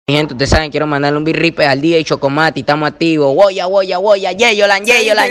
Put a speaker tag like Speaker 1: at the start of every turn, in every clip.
Speaker 1: Mi gente, ustedes saben, quiero mandarle un birripe al DJ Chocomati, estamos activos. Woya, Yeyolan.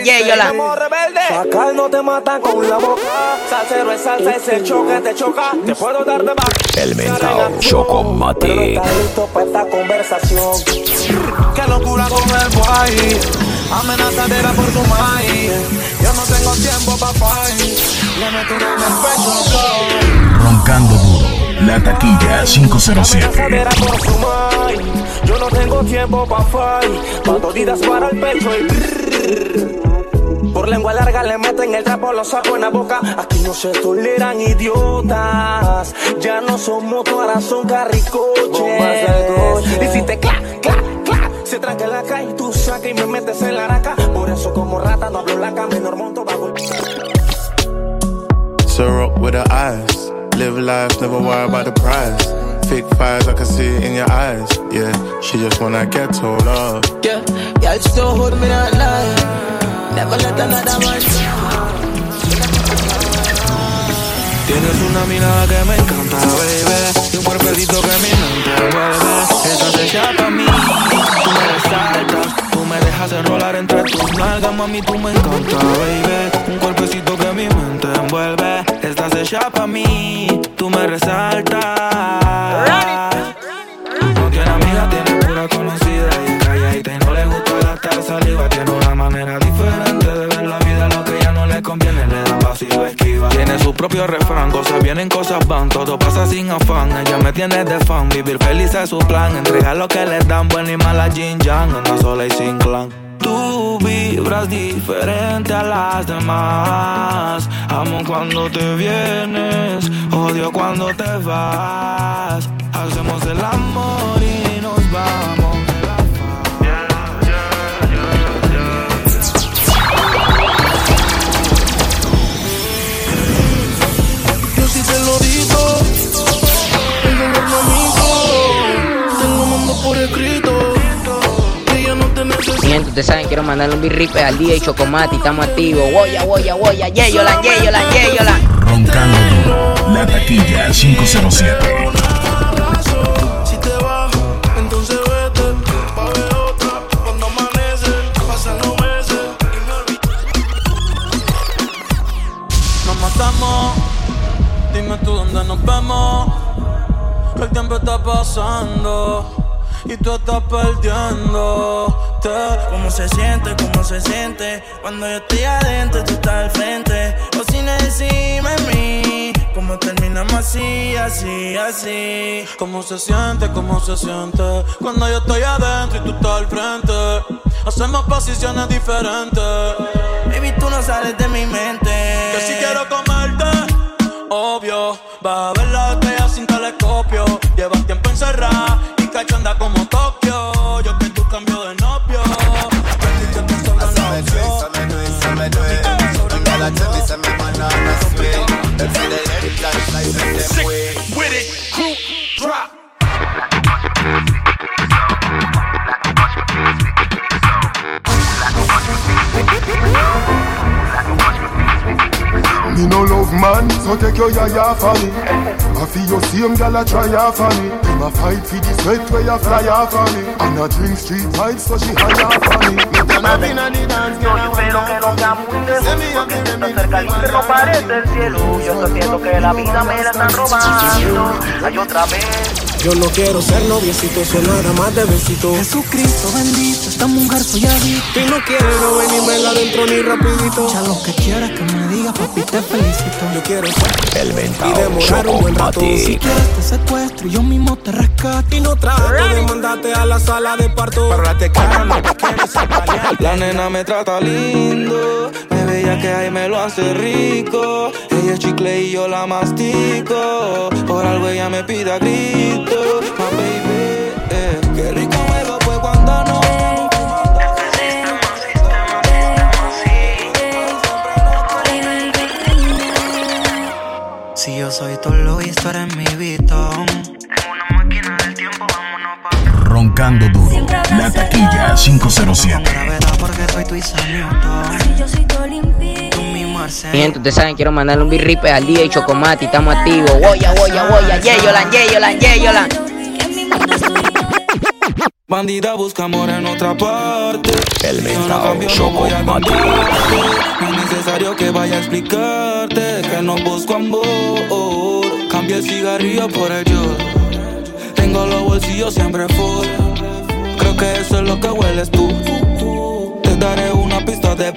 Speaker 2: Sacar no te matan con la boca. Salsero es salsa, ese choque te choca. Te puedo dar de baja.
Speaker 3: El mentao Chocomati.
Speaker 2: Pero estás listo para esta conversación. Qué locura con el boy. Amenazadera por tu maíz. Yo no tengo tiempo pa' fight. Le meto en el pecho.
Speaker 3: Roncando duro. La taquilla 507.
Speaker 2: Amenazadera por tu maíz. Yo no tengo tiempo pa' fight. Patoditas para el pecho y por lengua larga le meten el trapo, lo saco en la boca. Aquí no se toleran idiotas. Ya no somos corazón carricoches. Y si te se tranca en la calle, tú sacas y me metes en la araca. Por eso como rata no hablo laca, menor monto bajo el...
Speaker 4: Syrup with her eyes. Live life, never worry about the price. Fake fires, I can see it in your eyes. Yeah, she just wanna get told off.
Speaker 5: Yeah, y'all still hold me that lie. Never let another one.
Speaker 2: Tienes una mirada que me encanta, baby. Y un cuerpecito que mi mente envuelve. Estás hecha pa' mí. Tú me resaltas. Tú me dejas enrolar entre tus nalgas. Mami, tú me encanta, baby. Un cuerpecito que mi mente envuelve. Estás hecha pa' mí. Tú me resaltas. No tiene amiga, tiene pura conocida. Y calladita y no le gusta gastar saliva. Tiene una manera diferente de ver la vida. Lo que ya no le conviene le da paso y lo esquiva. Tiene su propio refrán, cosas vienen, cosas van. Todo pasa sin afán, ella me tiene de fan. Vivir feliz es su plan, entregar lo que le dan. Buena y mala Jin Yang, anda sola y sin clan. Tú vibras diferente a las demás. Amo cuando te vienes, odio cuando te vas. Hacemos el amor y nos vamos de la faz. Yo sí te lo digo, tengo un hermanito, tengo mando por escrito.
Speaker 1: Mi gente, ustedes saben, quiero mandarle un birripe al DJ Chocomati, estamos activos. Woya, Yeyolan.
Speaker 3: Roncando duro. La taquilla 507.
Speaker 2: Si te vas, entonces vete. Pa' ver otra, cuando amanece. Pasan los meses y me olvidé. Nos matamos. Dime tú dónde nos vemos. Que el tiempo está pasando y tú estás perdiéndote.
Speaker 6: ¿Cómo se siente? Cuando yo estoy adentro y tú estás al frente? O sin decirme a mí, ¿cómo terminamos así?
Speaker 2: ¿Cómo se siente? Cuando yo estoy adentro y tú estás al frente? Hacemos posiciones diferentes.
Speaker 6: Baby, tú no sales de mi mente.
Speaker 2: Que si quiero comerte, obvio. Vas a ver la estrella sin telescopio. Llevas tiempo encerrada y cachonda como Tokio. Yo que tú cambio de novio.
Speaker 4: With it, crew, drop.
Speaker 7: Me no love man, so take your yaya for me. I feel your same gal a try off for me. Them a fight for the sweat where you fly off for me. And a drink street vibes so she high off for me. Me turn up in a the dance, girl, I
Speaker 8: Espero que no sea muy lejos, porque cerca el infierno parece el cielo. Yo estoy siento que la vida me la están robando. Hay otra vez.
Speaker 2: Yo no quiero ser noviecito, solo nada más de besito.
Speaker 5: Jesucristo bendito, esta mujer soy adicto.
Speaker 2: Y no quiere no ver ni verla adentro ni rapidito.
Speaker 5: Ya lo que quieras que me digas, papi, te felicito.
Speaker 2: Yo quiero ser
Speaker 3: El
Speaker 2: y
Speaker 3: mentao
Speaker 2: demorar un buen rato.
Speaker 5: Si
Speaker 3: Chocomati.
Speaker 5: quieres te secuestro y yo mismo te rescato.
Speaker 2: Y no trato de mandarte a la sala de parto. Pero la te cara lo que quieres es paliar. La nena me trata lindo, me veía que ahí me lo hace rico. Ella es chicle y yo la mastico. Por algo ella me pide a grito. My baby, qué rico juego fue cuando no.
Speaker 5: Si yo soy Tolo y tú eres mi Vitón.
Speaker 8: En una máquina del tiempo, vámonos pa'.
Speaker 3: Roncando duro. La taquilla 507.
Speaker 5: Gravedad porque soy tu Isaac Newton.
Speaker 9: Si yo soy tu Olimpia.
Speaker 5: Tú mi Marcel.
Speaker 1: Mi gente, ustedes saben, quiero mandarle un birripe al DJ Chocomati, estamos activos. Woya, Yeyolan.
Speaker 9: En mi mundo estoy
Speaker 2: Bandida busca amor en otra parte.
Speaker 3: El
Speaker 2: Yo no cambio, no voy a cambiarte. No es necesario que vaya a explicarte que no busco amor. Cambia el cigarrillo por el yo. Tengo los bolsillos siempre full. Creo que eso es lo que hueles tú. Te daré una pista de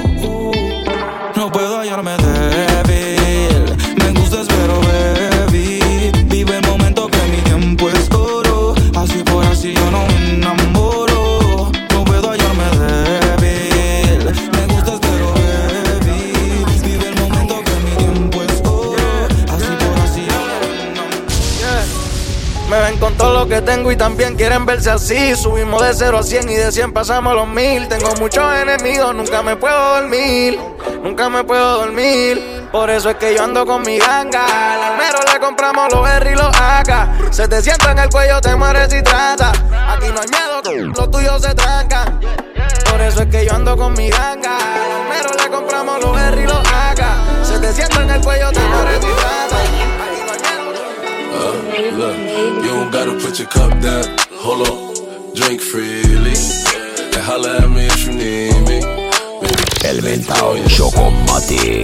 Speaker 2: no puedo hallarme débil. Me gustas pero baby. Vive el momento que mi tiempo es oro. Así por así yo no me enamoro. No puedo hallarme débil. Me gustas pero baby. Vive el momento que mi tiempo es oro. Así por así yo no me enamoro.
Speaker 6: Me ven con todo lo que tengo y también quieren verse así. Subimos de 0 a 100 y de 100 pasamos los 1000. Tengo muchos enemigos, nunca me puedo dormir. Nunca me puedo dormir. Por eso es que yo ando con mi ganga. Al almero le compramos los R y los AK. Se te sienta en el cuello, te mueres y trata. Aquí no hay miedo, los tuyos se trancan. Por eso es que yo ando con mi ganga. Al almero le compramos los R y los AK. Se te sienta en el cuello, te mueres y trata.
Speaker 9: Look, you don't gotta put your cup down. Hold up, drink freely. And holla at me if you need me.
Speaker 3: El mentao Chocomatic.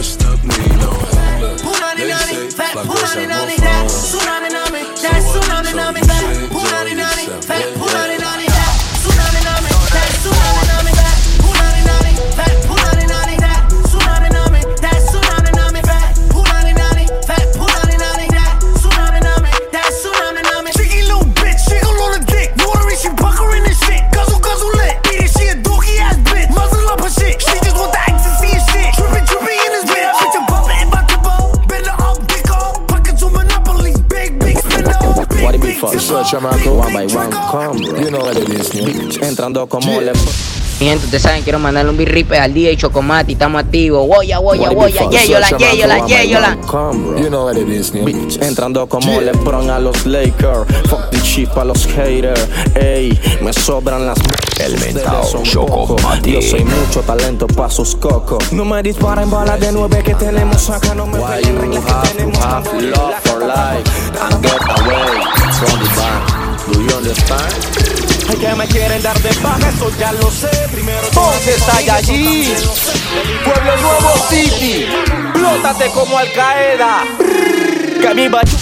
Speaker 5: One by one, come, bro. You know what it is, entrando como le...
Speaker 1: Mi gente, ustedes saben, quiero mandarle un birripe al DJ Chocomati. Estamos activos. Woya, Yeyola.
Speaker 5: You know what it is, entrando como LeBron a los Lakers. Fuck the chip a los haters. Ey, me sobran las...
Speaker 3: El mentao Chocomatic.
Speaker 5: Yo soy mucho talento pa' sus cocos. No me disparen balas de 9 que tenemos acá. No me peleen reglas que tenemos. Have love for life and get away from the bank. Do you understand? Ay, que me quieren dar de baja, eso ya lo sé. Primero
Speaker 10: Ponte Saiyajin, Pueblo Nuevo City, plótate como Al Qaeda. Que mi bachu...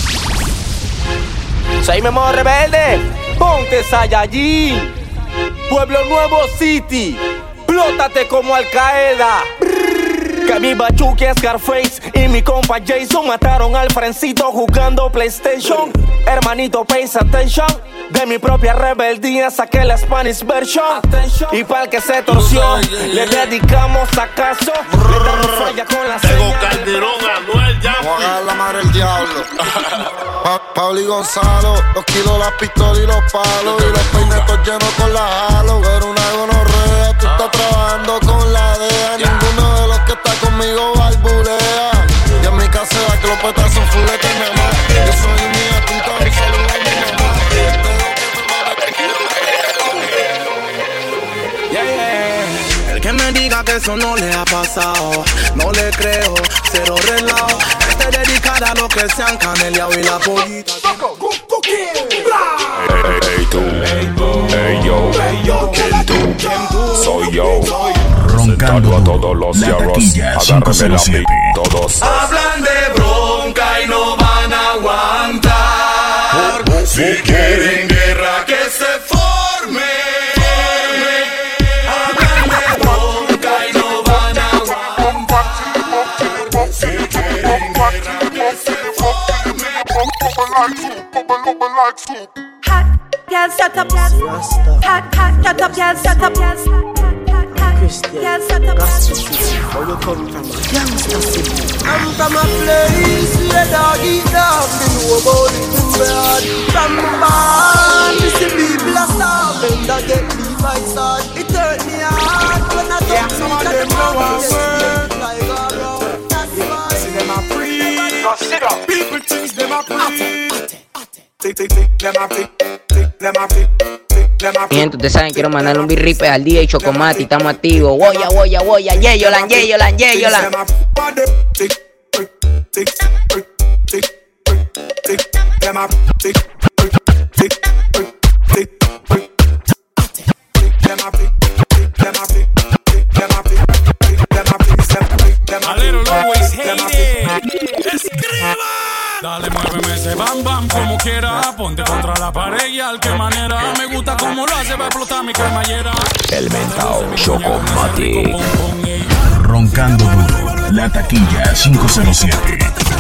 Speaker 10: Soy Memo Rebelde. Ponte Saiyajin, Pueblo Nuevo City, plótate como Al Qaeda. Que mi Bachuki, Scarface y mi compa Jason mataron al Frencito jugando PlayStation. Hermanito, pays attention. De mi propia rebeldía saqué la Spanish version. Y para el que se torció, le dedicamos acaso. Le damos falla con la
Speaker 11: Tego Calderón, Anuel ya.
Speaker 12: Vamos a agarrar la madre del diablo. Pablo y Gonzalo, los kilos, las pistolas y los palos. Y los peinetos llenos con la halo. Pero una gonorrea, tú estás trabajando con la DEA. Ninguno de los que está conmigo barbulea. Y en mi casera que los petas son fuletes, mi amor. Yo soy un niatito, mi saludo a mi mamá.
Speaker 6: El que me diga que eso no le ha pasado, no le creo, cero relajo. Este dedicada a los que se han caneleado y la pollita.
Speaker 3: Hey tú, hey yo, ¿quién tú? Soy yo.
Speaker 13: Roncando
Speaker 3: a todos los
Speaker 13: la taquilla 507.
Speaker 3: Todos
Speaker 11: hablan de bronca y no van a aguantar. Si quieren guerra que se forme. Hablan de bronca y no van a aguantar. Si quieren guerra que se forme.
Speaker 14: Hot, girl, shut up, hot, shut up, girl, shut up,
Speaker 5: Where you come from? Youngster City. I'm from a place where dog eat dog. Me know about it in bed. From the barn, me see people a starving. That get me by side. It hurt me hard when I talk some of them know I work. Like a road, that's why. See them a free. Go sit up. People think them a free. Tick, them a free. Them a free.
Speaker 1: Mi gente, ustedes saben, quiero mandarle un birripe al DJ Chocomati. Estamos activos. Woya, Yeyola.
Speaker 11: A little always hate it. Escriba. Dale, muéveme ese bam bam como quiera. Ponte contra la pared y al que manera. Me gusta como lo hace, va a explotar mi cremallera.
Speaker 13: El mentao Chocomatic. Roncando duro. La taquilla 507.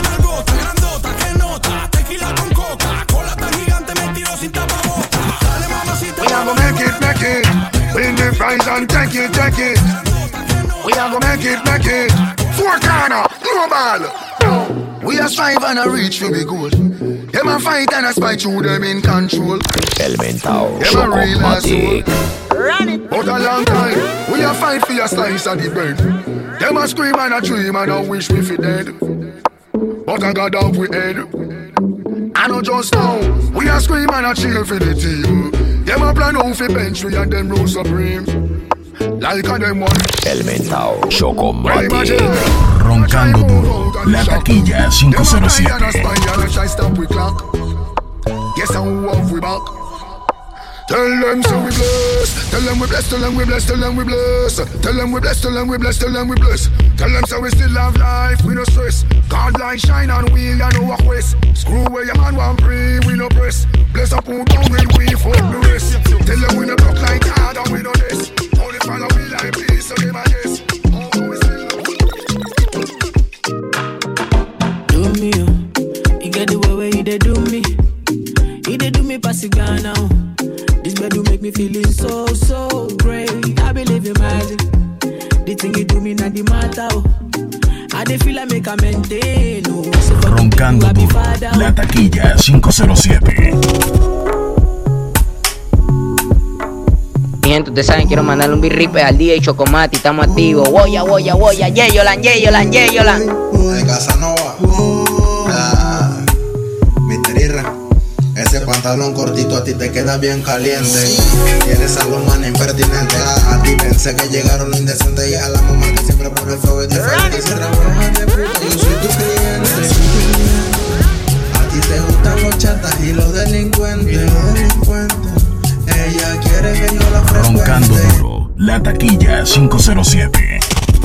Speaker 7: We are gonna make it. Win the prize and take it. We are gonna make it. Four corner, no ball. We are strive and a reach for the goal. Them a fight and a spite through them in control.
Speaker 13: El mentao
Speaker 7: Them a real
Speaker 13: Chocomatic.
Speaker 7: But a long time, we a fight for your slice of the bread. Them a scream and a dream and a wish we fi dead. But I got off we head. I know just now, we a scream and a cheer for the team. Them a plan out fi bench we and them rule supreme. Like a them one.
Speaker 13: El mentao Chocomatic. Roncando duro. La taquilla 507.
Speaker 7: Guess how off we back. Tell them so we bless. Tell them we bless. Tell them we bless. Tell them we bless. Tell them we bless. Tell them we bless. Tell them we bless. Tell them so we still have life. We no stress. God light shine on wheel and no quest. Screw where your man want pray. We no press. Bless up who down and we fuck the rest. Tell them we no block like hard and we no this. Only follow we like peace. So give a yes.
Speaker 15: Do me, you get the way where you dey do me. You dey do me pass it down now. This bed do make me feeling so great. I believe in magic. The thing you do me not the matter. I dey feel I make a maintain.
Speaker 13: Roncando duro. La taquilla 507.
Speaker 1: Mi gente, ustedes saben, quiero mandarle un birripe al DJ Chocomati. Estamos activos. Woya. Yeyolan.
Speaker 16: De Casanova. Mr. Irra. Ese pantalón cortito a ti te queda bien caliente. Tienes a los manes impertinentes. A ti pensé que llegaron los indecentes. Y a la mamá que siempre pone el fuego es diferente. Si trabajas de puta, yo soy tu cliente. A ti te gustan los chatas y los delincuentes. Ella quiere que yo la frecuente.
Speaker 13: Roncando duro. La taquilla 507.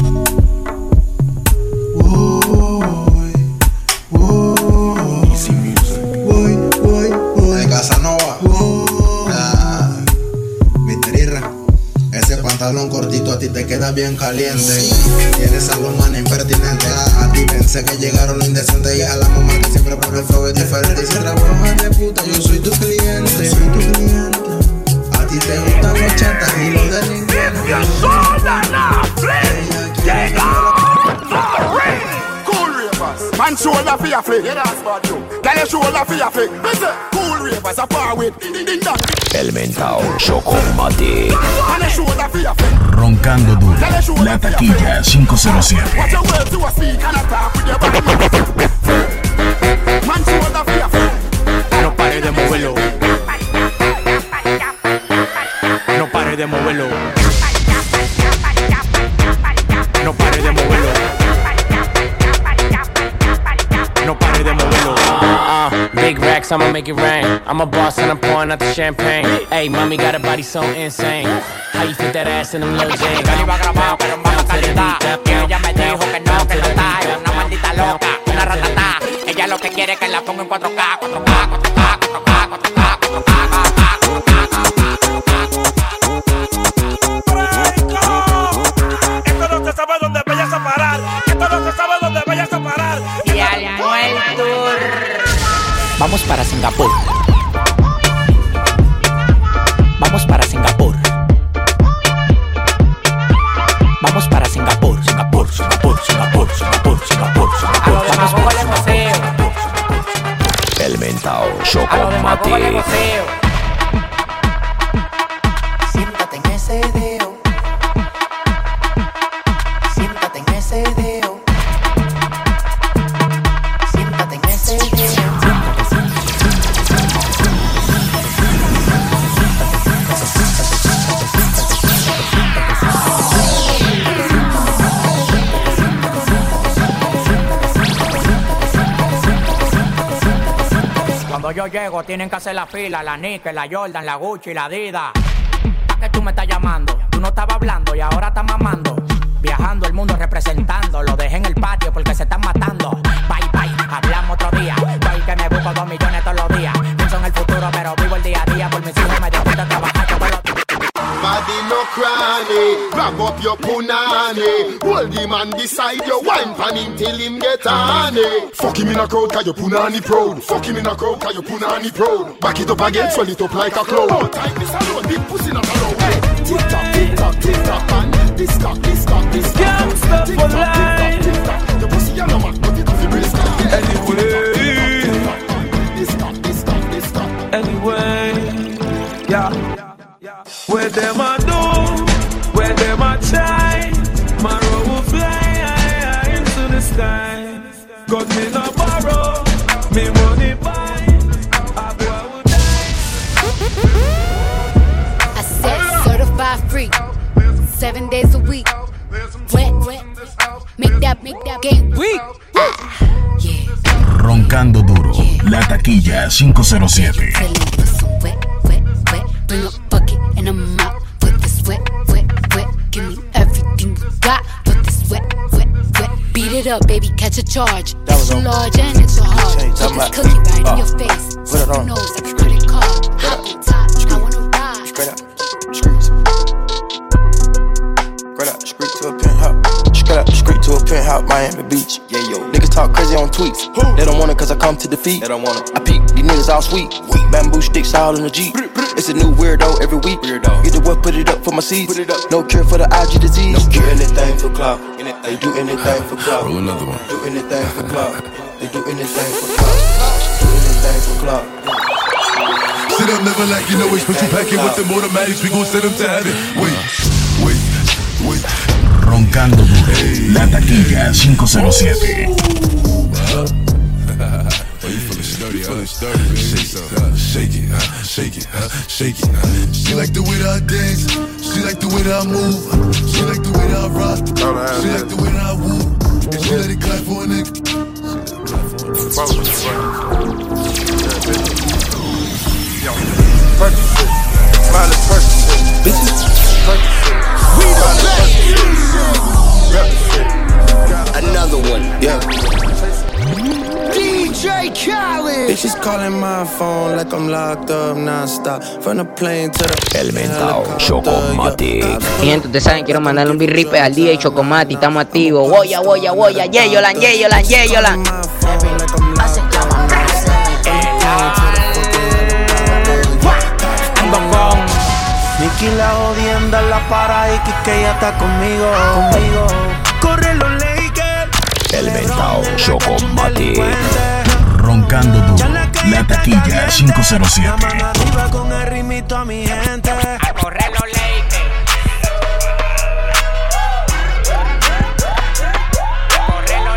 Speaker 16: De Casanova. Mr. Irra. Ese pantalón cortito a ti te queda bien caliente. Tienes a los manes impertinentes. A ti pensé que llegaron los indecentes. Y a la mamá que siempre pone el fuego es diferente. Y si trabajas de puta, yo soy tu cliente. A ti te gustan los chatas y los delincuentes.
Speaker 7: Man shoulder for your flick. Yeah, that's bad too. Tell your shoulder for your flick. Cool ravers are far with.
Speaker 13: El mentao Chocomatic.
Speaker 7: Man a shoulder for your flick.
Speaker 13: Roncando duro. La taquilla 507.
Speaker 7: Watch your words to a speak and attack with your body. Man shoulder for your flick.
Speaker 10: No pare de moverlo. No pare de moverlo. No pare de moverlo. No pare de moverlo. Big racks, I'ma make it rain. I'm a boss and I'm pouring out the champagne. Hey, mommy got a body so insane. How you fit that ass in them little jeans?
Speaker 17: Yo le iba a grabar, pero en baja calidad. Y ella me dijo que no está. Es una maldita loca, una ratatá. Ella lo que quiere es que la ponga en 4K, 4K, 4K, 4K, 4K, 4K.
Speaker 11: Esto no se sabe dónde vayas a parar. Esto no se sabe dónde vayas a parar.
Speaker 17: Y al muerto.
Speaker 15: Vamos para Singapur. Vamos para Singapur. Vamos para Singapur. Singapur.
Speaker 17: Vamos al museo.
Speaker 13: El mentao
Speaker 17: A lo demás, vamos al
Speaker 13: Chocomatic.
Speaker 17: museo.
Speaker 15: Siéntate en ese dedo. Siéntate en ese dedo. Siéntate en ese dedo.
Speaker 17: Cuando yo llego tienen que hacer la fila, la Nike, la Jordan, la Gucci, la Adidas. ¿Pa' qué tú me estás llamando? Tú no estabas hablando y ahora estás mamando. Viajando el mundo representando. Lo dejé en el patio porque se están matando. Bye, bye, hablamos otro día. Estoy que me busco 2 millones todos los días. Pienso en el futuro pero vivo el día a día. Por mis hijos me disfruto a trabajar todos los días.
Speaker 7: Body no cranny, grab up your punani. Hold him and decide your wine pan him till him get honey. Fuck him in a crowd cause your punani proud. Fuck him in a crowd cause your punani proud. Back it up again, swell it up like a cloud. Oh, time this alone, big pussy not alone. Hey, tick tock, tick tock, tick tock, man. This cock, this cock, this cock.
Speaker 2: Gangsta for life.
Speaker 7: The pussy yellow man, but it doesn't really stop.
Speaker 2: Anyway,
Speaker 7: this cock, this cock, this cock.
Speaker 2: Anyway, yeah. Where them a do, where them a try. My road will fly high into the sky. Cause me no borrow, me money buy. A boy will die.
Speaker 18: I said certified free, 7 days a week. Wet, make that game weak.
Speaker 13: Roncando duro, La Taquilla 507.
Speaker 18: Bring a bucket and a mop. Put this wet. Give me everything you got. Put this wet. Beat it up, baby, catch a charge. Extra large and extra hard. Put this cookie right in your face. Put your nose like a credit card. Hop on top, I wanna ride.
Speaker 6: Straight up, street to a penthouse. Straight to a penthouse, Miami Beach. Yeah, yo. Niggas talk crazy on tweets. They don't want it cause I come to defeat. They don't want it. I peek, these niggas all sweet. Bamboo sticks all in the Jeep. It's a new weirdo every week. Get the what, put it up for my seeds. No cure for the IG disease. Do anything for clout. They do anything for clout.
Speaker 9: Roll another one.
Speaker 6: Do anything for clout. They do anything for clout. Do anything for clout.
Speaker 9: Sit up, never like you know it. Put you back in with them automatics. We gon' send them to heaven. Wait.
Speaker 13: Roncando duro, La Taquilla 507.
Speaker 9: Shake it. She like the way that I dance. She like the way that I move. She like the way that I rock. She like the way that I woo. And she let it clap for a nigga.
Speaker 6: Percocet, smiley Percocet, bitches. Percocet, we the best.
Speaker 5: Another one,
Speaker 6: yeah.
Speaker 5: DJ Khaled.
Speaker 6: Bitches calling my phone like I'm locked up non-stop. From the plane to the
Speaker 1: Elementado, Chocomati. Mi gente, ustedes saben, quiero mandarle un birripe al DJ Chocomati. Estamos activos. Woya. Yeyolan.
Speaker 6: Ando con Nicky la jodienda en la para y que ella está conmigo. Corre los Lakers.
Speaker 13: Elementado, Chocomati. Roncando duro, La Taquilla 507.
Speaker 6: Arriba con el ritmito a mi gente.
Speaker 17: A correr los Lakers. A correr los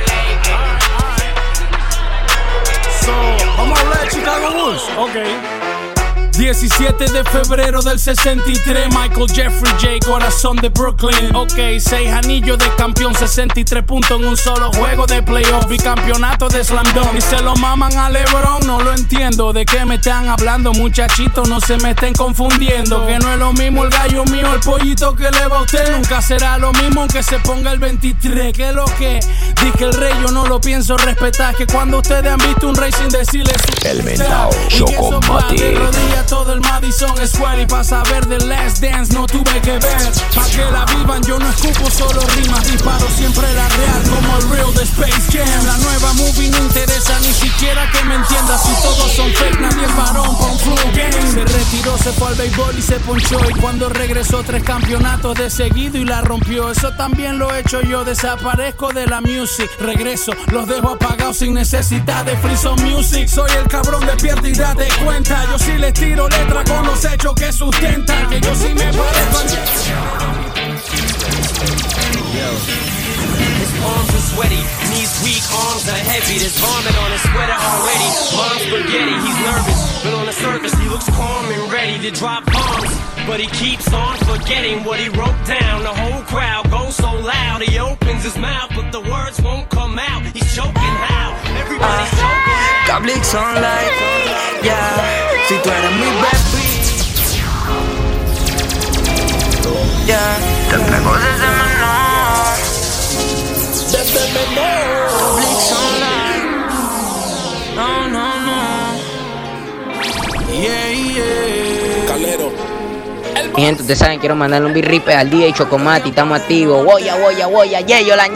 Speaker 17: Lakers.
Speaker 11: Vamos a hablar de Chicago Bulls. Ok. 17 de febrero del 63, Michael Jeffrey J, corazón de Brooklyn. Ok, 6 anillos de campeón, 63 puntos en un solo juego de playoff. Bicampeonato de Slam Dunk. Y se lo maman a LeBron, no lo entiendo. ¿De qué me están hablando, muchachitos? No se me estén confundiendo. Que no es lo mismo el gallo mío, el pollito que le va a usted. Nunca será lo mismo aunque se ponga el 23. ¿Qué es lo que? Dije el rey, yo no lo pienso respetar. Que cuando ustedes han visto un rey sin decirle su
Speaker 13: El mentao, Chocomati.
Speaker 11: Todo el Madison Square y para saber de Last Dance no tuve que ver. Pa' que la vivan yo no escupo solo rimas, disparo siempre la real como el real de Space Jam. La nueva movie no interesa ni siquiera que me entiendas. Si todos son fake nadie es varón con Flu Game. Se retiró, se fue al béisbol y se ponchó. Y cuando regresó 3 campeonatos de seguido y la rompió. Eso también lo he hecho yo, desaparezco de la music. Regreso, los dejo apagados sin necesidad de Free Zone Music. Soy el cabrón de pierde y date cuenta. Yo sí les tiro letra con los hechos que sustentan. Que yo sí me parezco.
Speaker 19: His arms are sweaty, knees weak, arms are heavy. There's vomit on his sweater already. Mom's spaghetti, he's nervous, but on the surface he looks calm and ready to drop bombs. But he keeps on forgetting what he wrote down. The whole crowd goes so loud. He opens his mouth, but the words won't come out. He's choking how? Everybody's choking.
Speaker 2: Public sunlight, yeah. Si tú eres mi baby,
Speaker 1: Yeah, te entrego desde menor.
Speaker 5: Desde menor.
Speaker 1: Blitz online. No.
Speaker 5: Yeah. Calero.
Speaker 1: Mi gente, ustedes saben, quiero mandarle un birripe al DJ Chocomati, estamos activos. Woya, Yeyolan.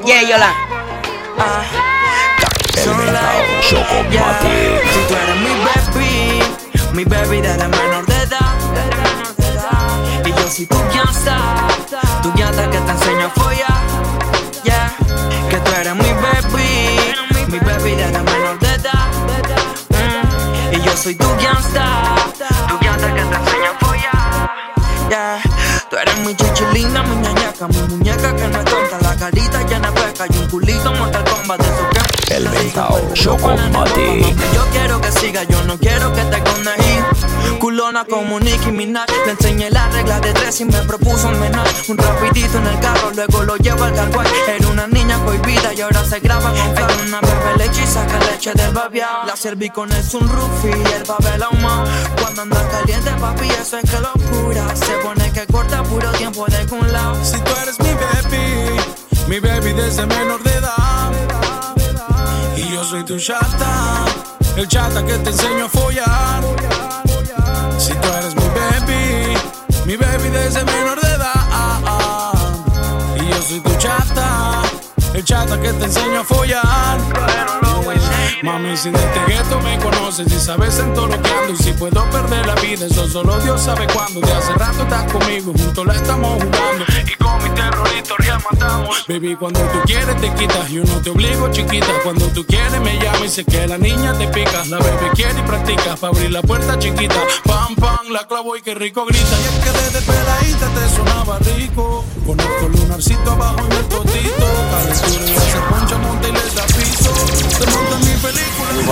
Speaker 3: Chocomati.
Speaker 5: Si tú eres mi baby desde menor de edad. Y yo soy tu gangsta que te enseño a follar. Yeah, que tú eres mi baby desde menor de edad. Y yo soy tu gangsta que te enseño a follar. Yeah, tú eres mi chichilinda, mi ñañaca, mi muñeca que no es tonta, la carita llena de peca y un culito Mortal Kombat de esos que
Speaker 3: El Ventao Chocomati.
Speaker 5: yo quiero que siga, yo no quiero que te condejí. Culona como Nicki Minaj, le enseñé la regla de 3 y me propuso un menor. Un rapidito en el carro, luego lo llevo al carguay. Era una niña cohibida y ahora se graba con fe. Una bebé leche y saca leche del babiao. La serví con el sunroof y el babel ahumado. Cuando anda caliente, papi, eso es que locura. Se pone que corta puro tiempo de un lado.
Speaker 11: Si tú eres mi baby desde menor de edad. Y yo soy tu chata, el chata que te enseño a follar. Si tú eres mi baby desde menor de edad. Y yo soy tu chata, el chata que te enseño a follar. Mami, si desde gueto me conoces y sabes en todo lo que ando. Y si puedo perder la vida, eso solo Dios sabe cuándo. De hace rato estás conmigo, juntos la estamos jugando. Y con mi terrorito real matamos. Baby, cuando tú quieres te quitas, yo no te obligo, chiquita. Cuando tú quieres me llamas y sé que la niña te pica. La bebé quiere y practica, pa' abrir la puerta chiquita. Pam, pam, la clavo y qué rico grita. Y es que desde peladita te sonaba rico. Conozco el lunarcito abajo en el totito. Calentura y se poncha, monta y les da piso. Se monta en mi película.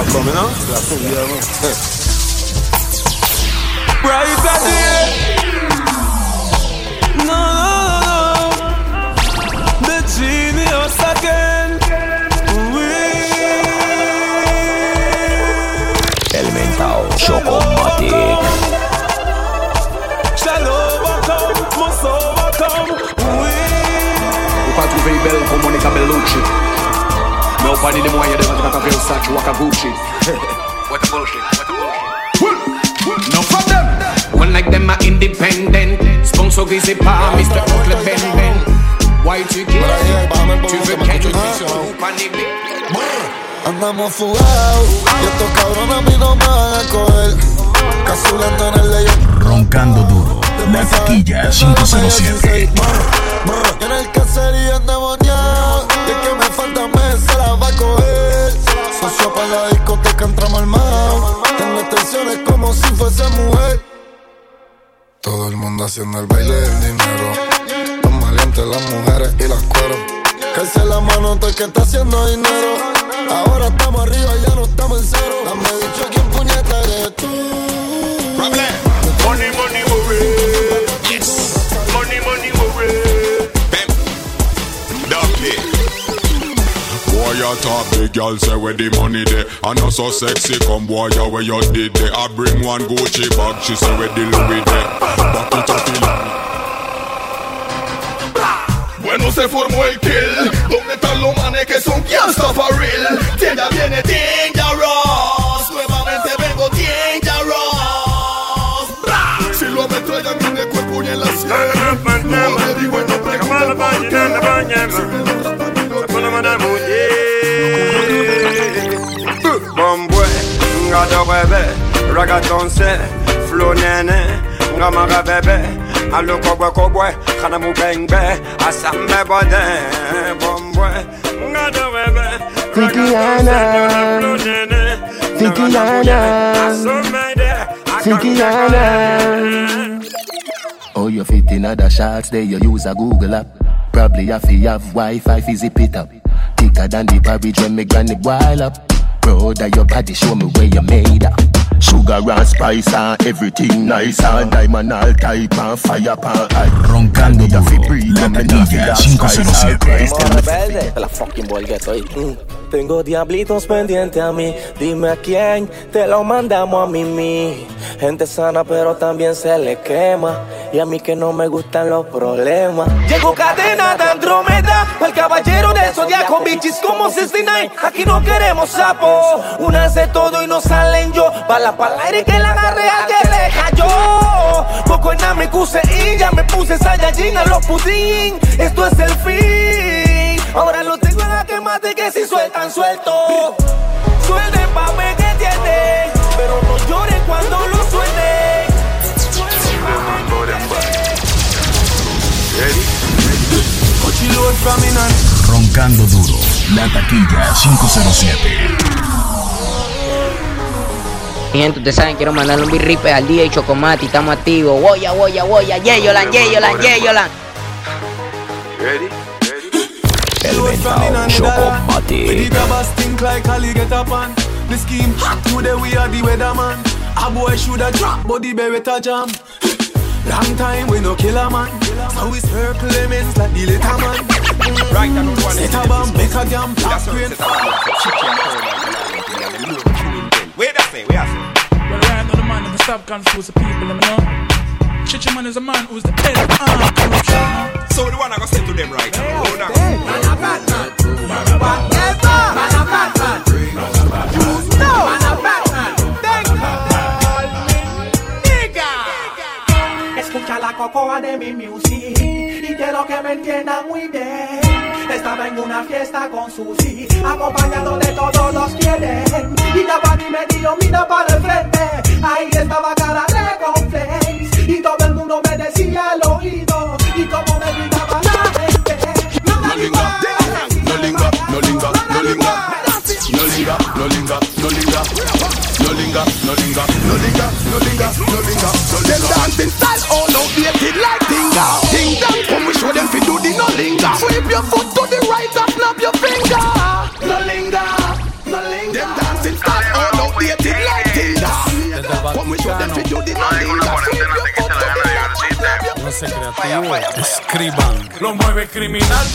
Speaker 5: Right back here. No. The genius again.
Speaker 3: El Ventao Chocomati.
Speaker 5: Shall overcome, must overcome.
Speaker 20: Ou pas trouver belle comme Monica Bellucci. Mais au panier des moyens de mettre un Versace ou un Gucci. What the bullshit. No from them. One like them are independent. Sponsor grisé par Mr. Oncle Ben. Why tu quittes? Tu veux qu'elle
Speaker 12: Andamos fugados y estos cabrones a mí no me van a coger. Casulando en el leyón.
Speaker 13: Roncando duro, la taquilla 507.
Speaker 12: En el caserío endemoniado y el que me falta mes se la va a coger. Socio para la discoteca entramos armados. Tengo extensiones como si fuese mujer. Todo el mundo haciendo el baile del dinero. Tan valientes las mujeres y las cueros. Calce la mano todo el que está haciendo dinero. Ahora estamos arriba y ya no estamos en cero. Dame dicho quién puñeta eres tú.
Speaker 3: Money, worry. Yes. Money, worry. Bam. Ducky.
Speaker 9: Boy, you talk big, girl say where the money there. I know so sexy, come boy, you where you did there. I bring one Gucci bag, she say where the Louis there. Back it up,
Speaker 3: Bueno, se formó el kill. ¿Dónde están los manes que son gangsta for real? Ya viene Dangerous. Nuevamente vengo Dangerous. Si lo meto ella en el cuerpo y en la sien. No me digo y no pregunto por qué.
Speaker 21: Bombwe, ngado bebe, ragatonse, flow nene, ngamaga bebe, alo kobwe, kana mu bengbe, asambe bode, bombwe, ngado bebe,
Speaker 22: Fikiana. Oh, you fit in other shots, there you use a Google app. Probably have to have Wi-Fi, fizzy pit up. Thicker than the porridge when me granny boil up. Brother, your body show me where you made up. Sugar and spice and everything nice and diamond all type and fire pan.
Speaker 13: Roncando duro, la taquilla 507.
Speaker 10: Rebelde, la fucking bolgueto ahí. Tengo diablitos pendientes a mí. Dime a quién te lo mandamos a mí. Gente sana pero también se le quema.
Speaker 6: y a mí que no me gustan los problemas.
Speaker 10: Llegó cadena de Andrómeda, el caballero del zodiaco, bitches como 69. Aquí no queremos sapo, unas de todo y no salen yo. Bala pa'l aire que la agarré al que le cayó. Poco en me cuse y ya me puse Saiyajin a los pudín. Esto es el fin, ahora lo tengo en la que mate que si sueltan suelto. Suelten pa' ver que tienen, pero no lloren cuando lo suenen.
Speaker 13: Roncando duro, la taquilla 507.
Speaker 1: Mi gente, ustedes saben, quiero mandarle un birripe al día y Chocomati, estamos activos. Woya, woya, woya, yeyolan, yeyolan, yeyolan.
Speaker 13: El mentao Chocomati.
Speaker 5: The scheme hot today, we are the weatherman. A boy shoulda drop, but the beretta jam. Long time we no kill a man, so we circle lemons like the little man. Right, I don't want to set a bomb, make a jam, black screen.
Speaker 21: Wait a second, wait a second.
Speaker 11: Well, right now the man that stop confuse the people, you know. Chichi man is a man who's the head of corruption.
Speaker 21: So the one I gonna say to them right now. Hold on.
Speaker 5: Man a bad man, man a bad man, man a bad man. You know, man a bad man. Thank call me nigga.
Speaker 10: Escucha la cocoa de mi music y quiero que me entiendan muy bien. Estaba en una fiesta con Susi, acompañado de todos los quieren. Y la party me dio mira para el frente. Ahí estaba cara de conflex y todo el mundo me decía al oído. Y como me gritaba la gente.
Speaker 3: No linga, no linga, no linga, no linga. No linga, no linga, no linga. No linga, no linga, no linga, no linga, no linga. Them dancing style all outdated like Tinga. Ting dong, come we show them fi do the no linga. Sweep your foot to the right and snap your finger. No linga, no linga. Them dancing style all outdated like Tinga. Come we show them fi do the no linga. Sweep your foot to the right and snap your finger.
Speaker 11: No sé creativo, escriban. Lo mueve criminal.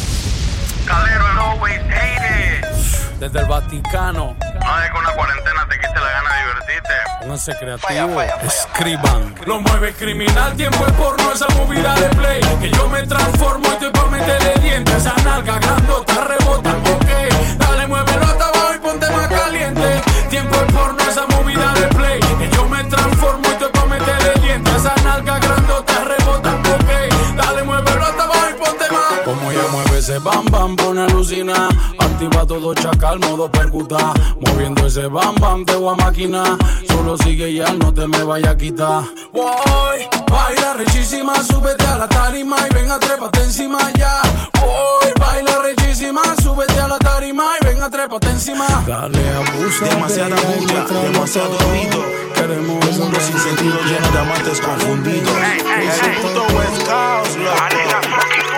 Speaker 4: Calero, I always hate it.
Speaker 11: Desde el Vaticano.
Speaker 4: No es que una cuarentena te quite la gana de divertirte.
Speaker 11: Pónganse creativo, escriban. Lo mueve criminal, tiempo es porno, esa movida de play. Que yo me transformo y estoy pa' meterle dientes. Esa nalga grandota rebota, ok. Dale, muévelo hasta abajo y ponte más caliente. Tiempo es porno, esa movida de play. Que yo me transformo y estoy pa' meterle dientes. Esa nalga grandota rebota, ok. Dale, muévelo hasta abajo y ponte más. Como ella mueve ese bam bam, pone alucina. Activa todo chacal, modo percuta. Moviendo ese bam bam, te voy a maquinar. Solo sigue ya, no te me vaya a quitar. Voy, baila rechísima, súbete a la tarima y ven a trépate encima ya. Voy, baila rechísima, súbete a la tarima y ven a trépate encima. Dale, abusa.
Speaker 8: Demasiada bulla, demasiado ruido.
Speaker 11: Queremos
Speaker 8: un mundo sin sentido lleno de amantes confundidos. Ese puto West Coast, loco.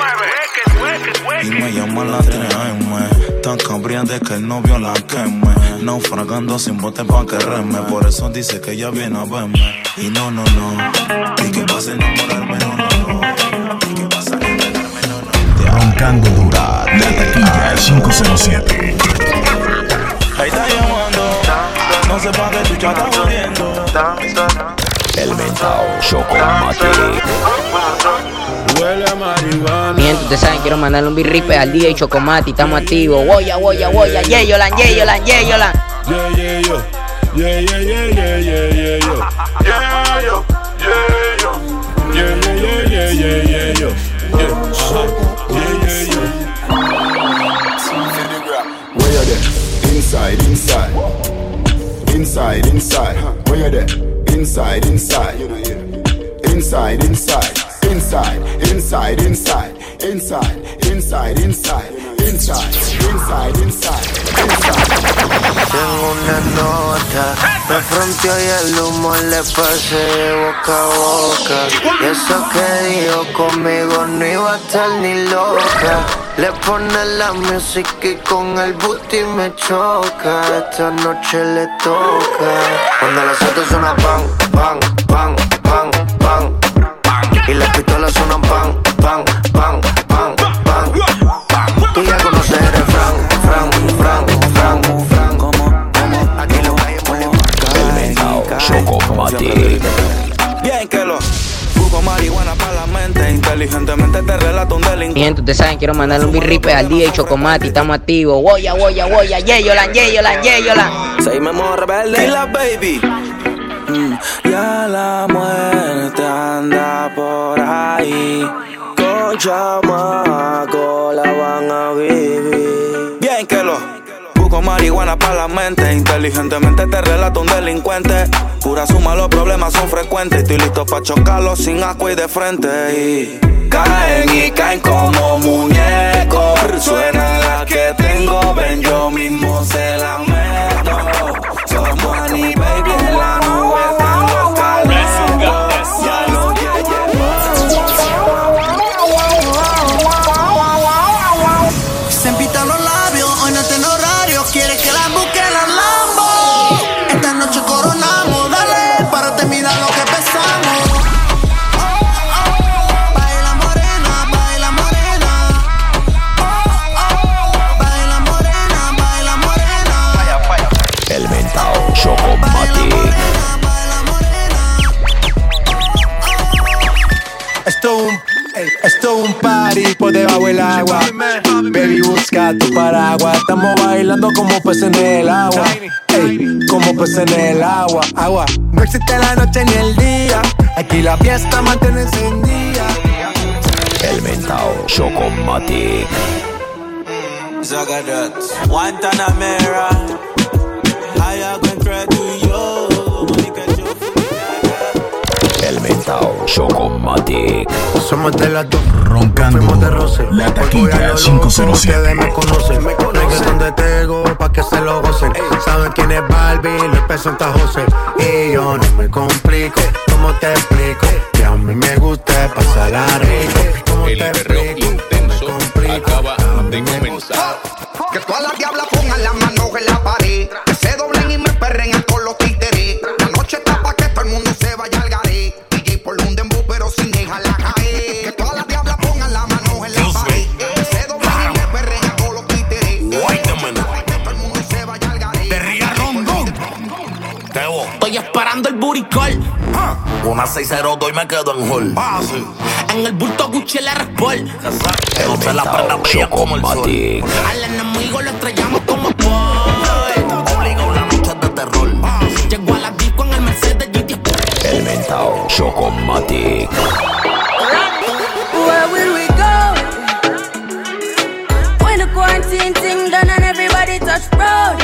Speaker 8: Y me llaman la 3M. Tan cambriante que el novio la queme. Naufragando sin bote pa' quererme. Por eso dice que ella viene a verme. Y no, no, no. Y que pasa a enamorarme, no, no, no. Y que pasa a enamorarme, no, no.
Speaker 13: Roncando dura, la taquilla 507.
Speaker 8: Ahí está llamando. No sé pa' qué chucha está jodiendo.
Speaker 13: El mentao Chocomati.
Speaker 8: Huele a marihuana.
Speaker 1: Mi gente, ustedes saben, quiero mandarle un birripe al día y Chocomati, estamos activos. Woya, woya, woya, yeyolan, yeyolan, yeyolan.
Speaker 8: Yeah, yeah, yo. Yeah, yeah, yeah, yeah, yeah, yeah, yo. Yeah, yo. Yeah, yo. Yeah, yeah, yeah, yeah, yeah, yeah, yo. Yeah, yeah, yo.
Speaker 3: Where you there? Inside, inside. Inside, inside. Where you there? Inside, inside. Inside, inside. Inside, inside, inside. Inside, inside, inside. Inside, inside, inside.
Speaker 23: Tengo una nota, me fronteó y el humo le pasé de boca a boca. Y eso que dijo conmigo no iba a estar ni loca. Le pone la música y con el booty me choca. Esta noche le toca. Cuando las autos suenan pan, pan, pan, pan, pan. Y las pistolas suenan pan, pan, pan, pan, pan. Tú ya conoces el refrán, fran, fran, fran, fran. Como, aquí lo hay en
Speaker 13: El mentao Chocomati.
Speaker 8: Bien que lo
Speaker 6: Busco marihuana para la mente, inteligentemente te relato un delincuente.
Speaker 1: Mi gente, ustedes saben, quiero mandarle un birripe al DJ Chocomati, estamos activos. Woya, yeyolan.
Speaker 6: Seguimos rebelde. Y la baby. Ya la muerte anda por ahí. Con chamaco la van a vivir. Bien que lo busco marihuana para la mente, inteligentemente te relato un delincuente. Pura suma, los problemas son frecuentes. Estoy listo pa' chocarlos sin asco y de frente. Y caen como muñecos. Suena la que tengo, ven yo mismo se la meto. Somos Annie Baby en la nube, están los calangos. Ya lo
Speaker 5: se empitan los labios, hoy no tengo horario. Quiere que la busque la Lambo. Esta noche coronamos, dale, para terminar lo que empezamos. Baila morena, baila morena. Baila morena, baila morena.
Speaker 13: El mentao Chocomati.
Speaker 14: Esto es un party por debajo del agua. Baby, busca tu paraguas. Estamos bailando como peces en el agua. Ey, como peces en el agua. No existe la noche ni el día. Aquí la fiesta mantiene encendida.
Speaker 13: El mentao Chocomati.
Speaker 6: Zagadat, Guantanamera. Hay algo entre tú y yo.
Speaker 13: El mentao Chocomati.
Speaker 14: Somos de las dos.
Speaker 13: Roncando
Speaker 14: de roce.
Speaker 13: La taquilla 507.
Speaker 14: Ustedes me conocen. Reggaeton de Tego pa' que se lo gocen. Saben quién es Barbie, Luis P. Santa José. Y yo no me complico. ¿Cómo te explico? Que a mí me gusta pasarla rico. ¿Cómo te explico?
Speaker 15: Intenso acaba de comenzar.
Speaker 16: Que todas las diablas pongan las manos en la pared. Que se doblen y me perren con los títeres. La noche está pa' que todo el mundo se vaya al garé. DJ por un dembow pero sin dejarla caer. Que todas las diablas pongan las manos en la pared. Que se doblen y me perren con los títeres.
Speaker 15: Wait a minute. De Ría Rondón.
Speaker 19: Estoy esperando el booty call.
Speaker 15: Una 602 y me quedo en hall.
Speaker 19: En el bulto Gucci el R-Sport.
Speaker 15: Que no se la prenda brilla como el sol.
Speaker 19: Al enemigo lo estrellamos como Paul.
Speaker 15: Obligado la noche de terror.
Speaker 19: Llegó a la disco en el Mercedes GT.
Speaker 13: El mentao Chocomati.
Speaker 24: Where will we go? When the quarantine thing done and everybody touch road.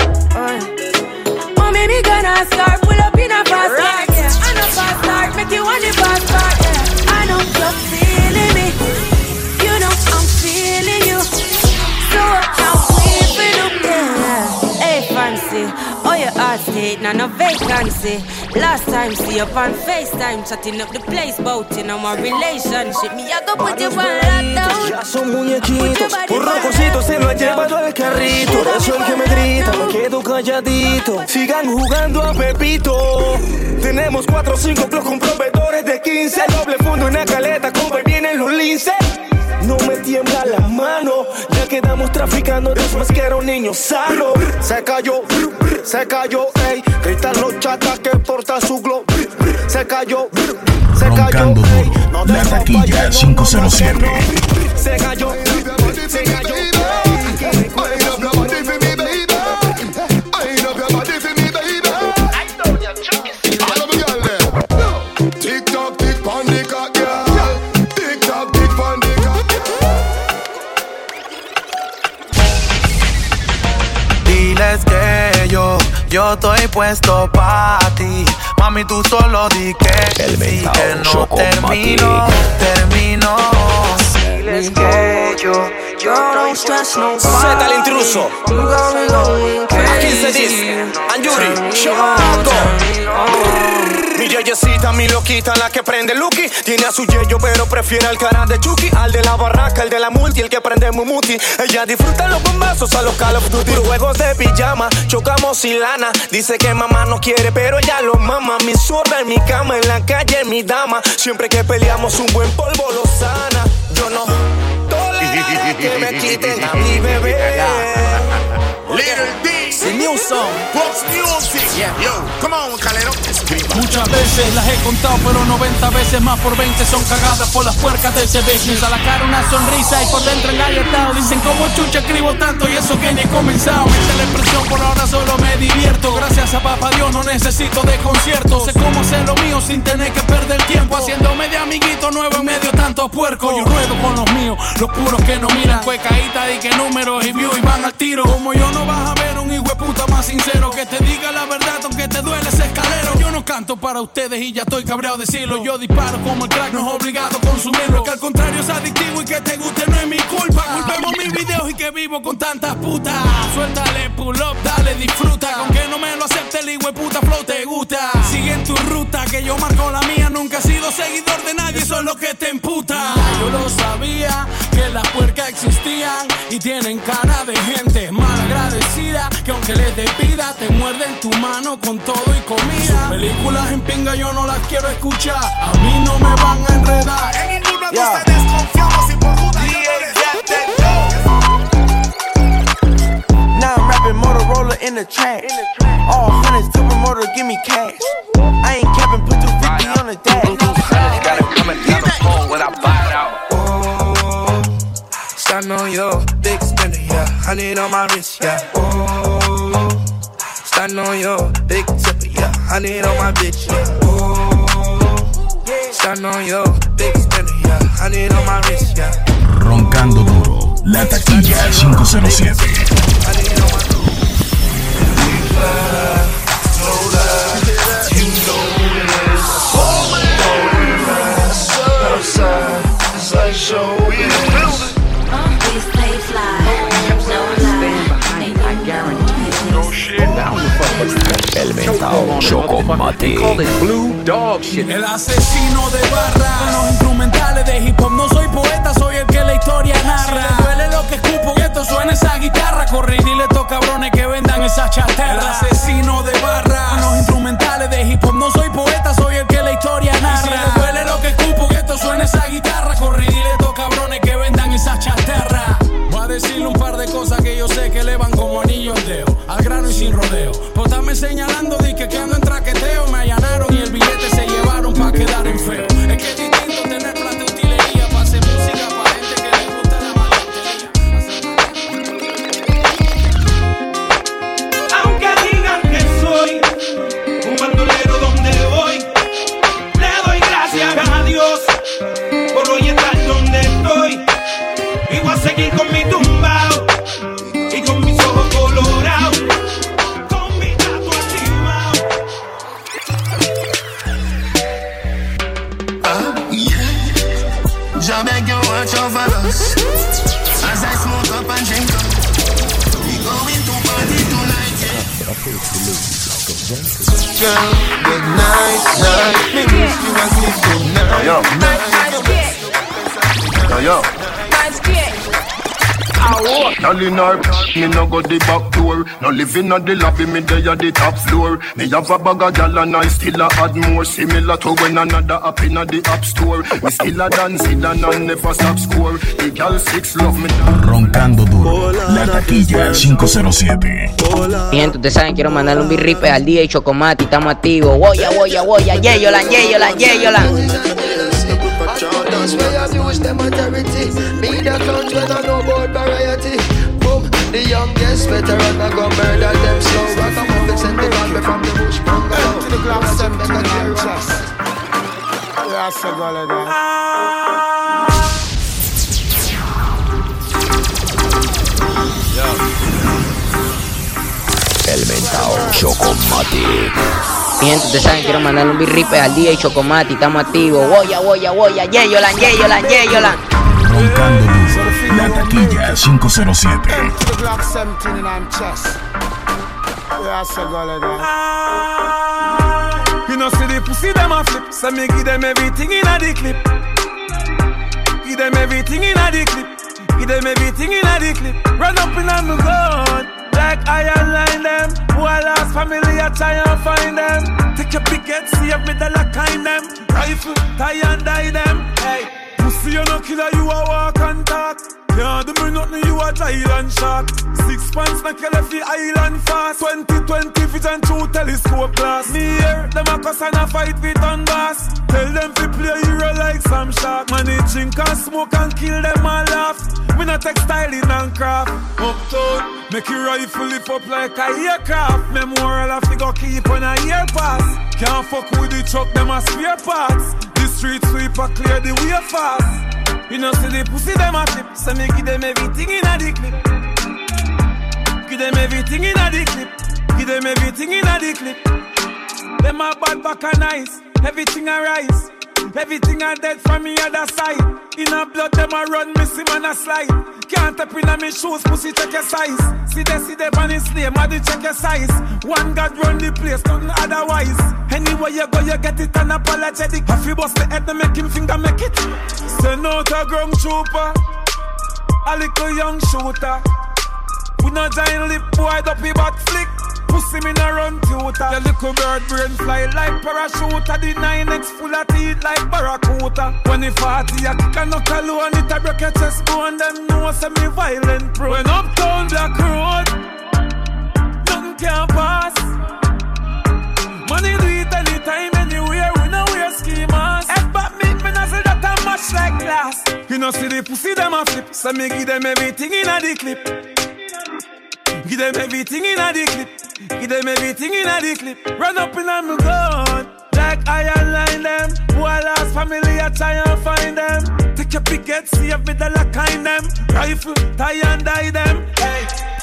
Speaker 24: Oh, maybe gonna start, pull up in a fast car, yeah. And a fast start, make you want the fast car, yeah. I know you're feeling me, you know I'm feeling you. So I'm weeping up, yeah. Hey, fancy, oh your heart state, now no vacancy. Last time, see you on FaceTime, chatting up the place, boating on my relationship. Me, I go put you on lockdown.
Speaker 6: Ya son muñequitos, un rococito se lo ha llevado al carrito. Por eso el que me grita, me quedo calladito. Sigan jugando a Pepito. Tenemos 4 o 5 clubs con proveedores de 15. Doble fondo y una caleta, como vienen los linces. No me tiembla la mano, ya quedamos traficando de más que era un niño sano. Se cayó, ey. Gritan los chatas que porta su glow. Se cayó,
Speaker 13: Roncando
Speaker 6: ey.
Speaker 13: duro. La taquilla 507.
Speaker 6: Se cayó. Diles que yo estoy puesto pa' ti. Mami, tú solo di que
Speaker 13: El
Speaker 6: sí, que no termino. Diles que yo no stress no
Speaker 10: Z el intruso. Aquí se dice Anjuri, Choco. Mi yeyecita, mi loquita, la que prende Lucky. Tiene a su yeyo, pero prefiere al cara de Chucky. Al de la barraca, el de la multi, el que prende Mumuti. Ella disfruta los bombazos a los Call of Duty. Juegos de pijama, chocamos sin lana. Dice que mamá no quiere, pero ella lo mama. Mi zorra en mi cama, en la calle, mi dama. Siempre que peleamos un buen polvo lo sana. Yo no toleraré que me quiten a mi bebé.
Speaker 3: Little D.
Speaker 10: The new song.
Speaker 3: Fox Music.
Speaker 10: Yeah.
Speaker 3: Yo, come on, Calero.
Speaker 11: Muchas veces las he contado, pero 90 veces más por 20 son cagadas por las puercas de ese business. A la cara una sonrisa y por dentro engalletado. Dicen como chucha escribo tanto y eso que ni he comenzado. Mete la expresión, por ahora solo me divierto. Gracias a papá Dios no necesito de conciertos. Sé cómo hacer lo mío sin tener que perder tiempo. Haciéndome de amiguito nuevo en medio de tantos puercos. Yo ruedo con los míos, los puros que no miran. Cuecaíta y que números y views y van al tiro. Como yo no vas a ver un hijo de puta más sincero que te diga la verdad aunque te duele ese escalero. Yo no canto para ustedes y ya estoy cabreado de decirlo. Yo disparo como el crack, no es obligado consumirlo. Que al contrario es adictivo y que te guste no es mi culpa. Culpemos mis videos y que vivo con tantas putas. Suéltale pull up, dale disfruta. Con que no me lo acepte el hijo de puta flow te gusta. Sigue en tu ruta que yo marco la mía. Nunca he sido seguidor de nadie, eso es lo que te emputa. Yo lo sabía que las puercas existían y tienen cara de gente mal agradecida. Que aunque les des vida te muerden tu mano con todo y comida. Sus películas en pinga yo no las quiero escuchar. A mí no me van a enredar.
Speaker 3: En ninguna de ustedes confiamos y por juda yo
Speaker 5: Now I'm rapping Motorola in the trash. All hundreds to promoter, give me cash. I ain't capping, put 250 on the dash.
Speaker 2: I just gotta come and down the phone when I buy it out.
Speaker 5: Oh, starting on your big spender, yeah. 100 on my wrist, yeah. Oh, starting on your big tipper, yeah. 100 on my bitch, yeah. Oh, starting on your big spender, yeah. 100 on my wrist, yeah.
Speaker 13: Roncando duro, la taquilla 507.
Speaker 2: El mentao Chocomatic.
Speaker 11: El asesino de barra. Con los instrumentales de hip hop. No soy poeta, soy el que la historia narra. Si le duele lo que escupo, que esto suena esa guitarra. Corre y dile a estos cabrones que vendan esa chatarra. El asesino de barra. Con los instrumentales de hip hop. No soy poeta, soy el que la historia narra. Si le duele lo que escupo, que esto suena esa guitarra. Corre y dile a estos cabrones que vendan esa chatarra. Voy a decirle un par de cosas que yo sé que le van como anillo al dedo. Al grano y sin rodeo. Pues estarme señalando de que ando en traqueteo. Me allanaron y el billete se llevaron pa' quedar en feo. Es que es distinto tener plata de utilería pa' hacer música pa' gente que le gusta la malentería.
Speaker 7: Aunque digan que soy un bandolero donde voy, le doy gracias a Dios por hoy estar donde estoy. Y voy a seguir con mi tumbao y con mis ojos colorados.
Speaker 17: I beg you watch over us as I smoke up and drink up. We going to party tonight, yeah. Girl, good night, night. Me wish you a good night.
Speaker 2: Yo.
Speaker 18: Girl in her, me no go the back door. No living on the lobby, me dey at the top floor. Me have a bag of gal and I still a add more. Similar to when another up in the app store. Me still a dance it and I never stop score. The gal 6 love me.
Speaker 13: Roncando duro, la taquilla 507.
Speaker 1: Mi gente, ustedes saben, quiero mandarle un birripe al DJ Chocomati, estamos activos. Woya, woya, woya, yeyolan, yeyolan, yeyolan.
Speaker 5: That's where I use them authority. Me the count when I know about variety. Boom, the youngest veteran I go murder them slow. I come up and send the gun from the bush. To the club, send them a tear chest. That's a golden.
Speaker 2: El mentao Chocomatic.
Speaker 1: Mi gente, ustedes saben, quiero mandarle un birripe al DJ Chocomati, estamos activos. Woya, woya, woya, yeyolan, yeyolan, yeyolan.
Speaker 13: Roncando duro, la taquilla 507.
Speaker 7: You know see the pussy them a flip, so me give them everything in a the clip. Give them everything in a the clip. Give them everything in a the clip. Run up in on the gun. Like I align them. Who I lost family, I try and find them. Take your picket, see if me the lock in them. Rifle, tie and die them. Hey, pussy you no killer, you a walk and talk. Yeah, do me nothing, you a Thailand shark. 6 pants, na kill every island fast. 2020 vision through telescope glass. Me here, them a cuss and a fight with Donbass. Tell them to play hero like some shark. Man, they drink and smoke and kill them and laugh. Me not textiling and craft. Uptown, make your rifle lift up like a aircraft. Memorial have to go keep on a year pass. Can't fuck with the truck, them a spare parts. The street sweeper clear the way fast. You know see the pussy them a flip, so me give them everything in a the clip. Give them everything in a the clip. Give them everything in a the clip. Them a bad back and nice, everything a rise. Everything a dead from me other side. In a blood them a run, me see man a slide. Can't tap in a me shoes, pussy check your size. See they on his slave, mother check your size. One God run the place, nothing otherwise. Anywhere you go, you get it unapologetic. If you bust the head, they make him finger make it. Send out a ground trooper, a little young shooter. We no giant lip boy, up he back flick. Pussy me no run tutor. Your little bird brain fly like parachute. The 9X full of teeth like barracuda. When he 40, I kick a knuckle alone. It a break your chest bone. Them know say me violent pro. When uptown Black Road, nothing can pass. Money do it anytime, anywhere. We no wear ski mask. Head back me nozzle that a match like glass. You know see the pussy them a flip. So me give them everything in a the clip. Give them everything in a the clip. Give them everything in a the clip. Run up in a me gun like iron line them. Who I lost family, I try and find them. Take your picket, see if me the lock in them. Rifle, tie and die them. Hey,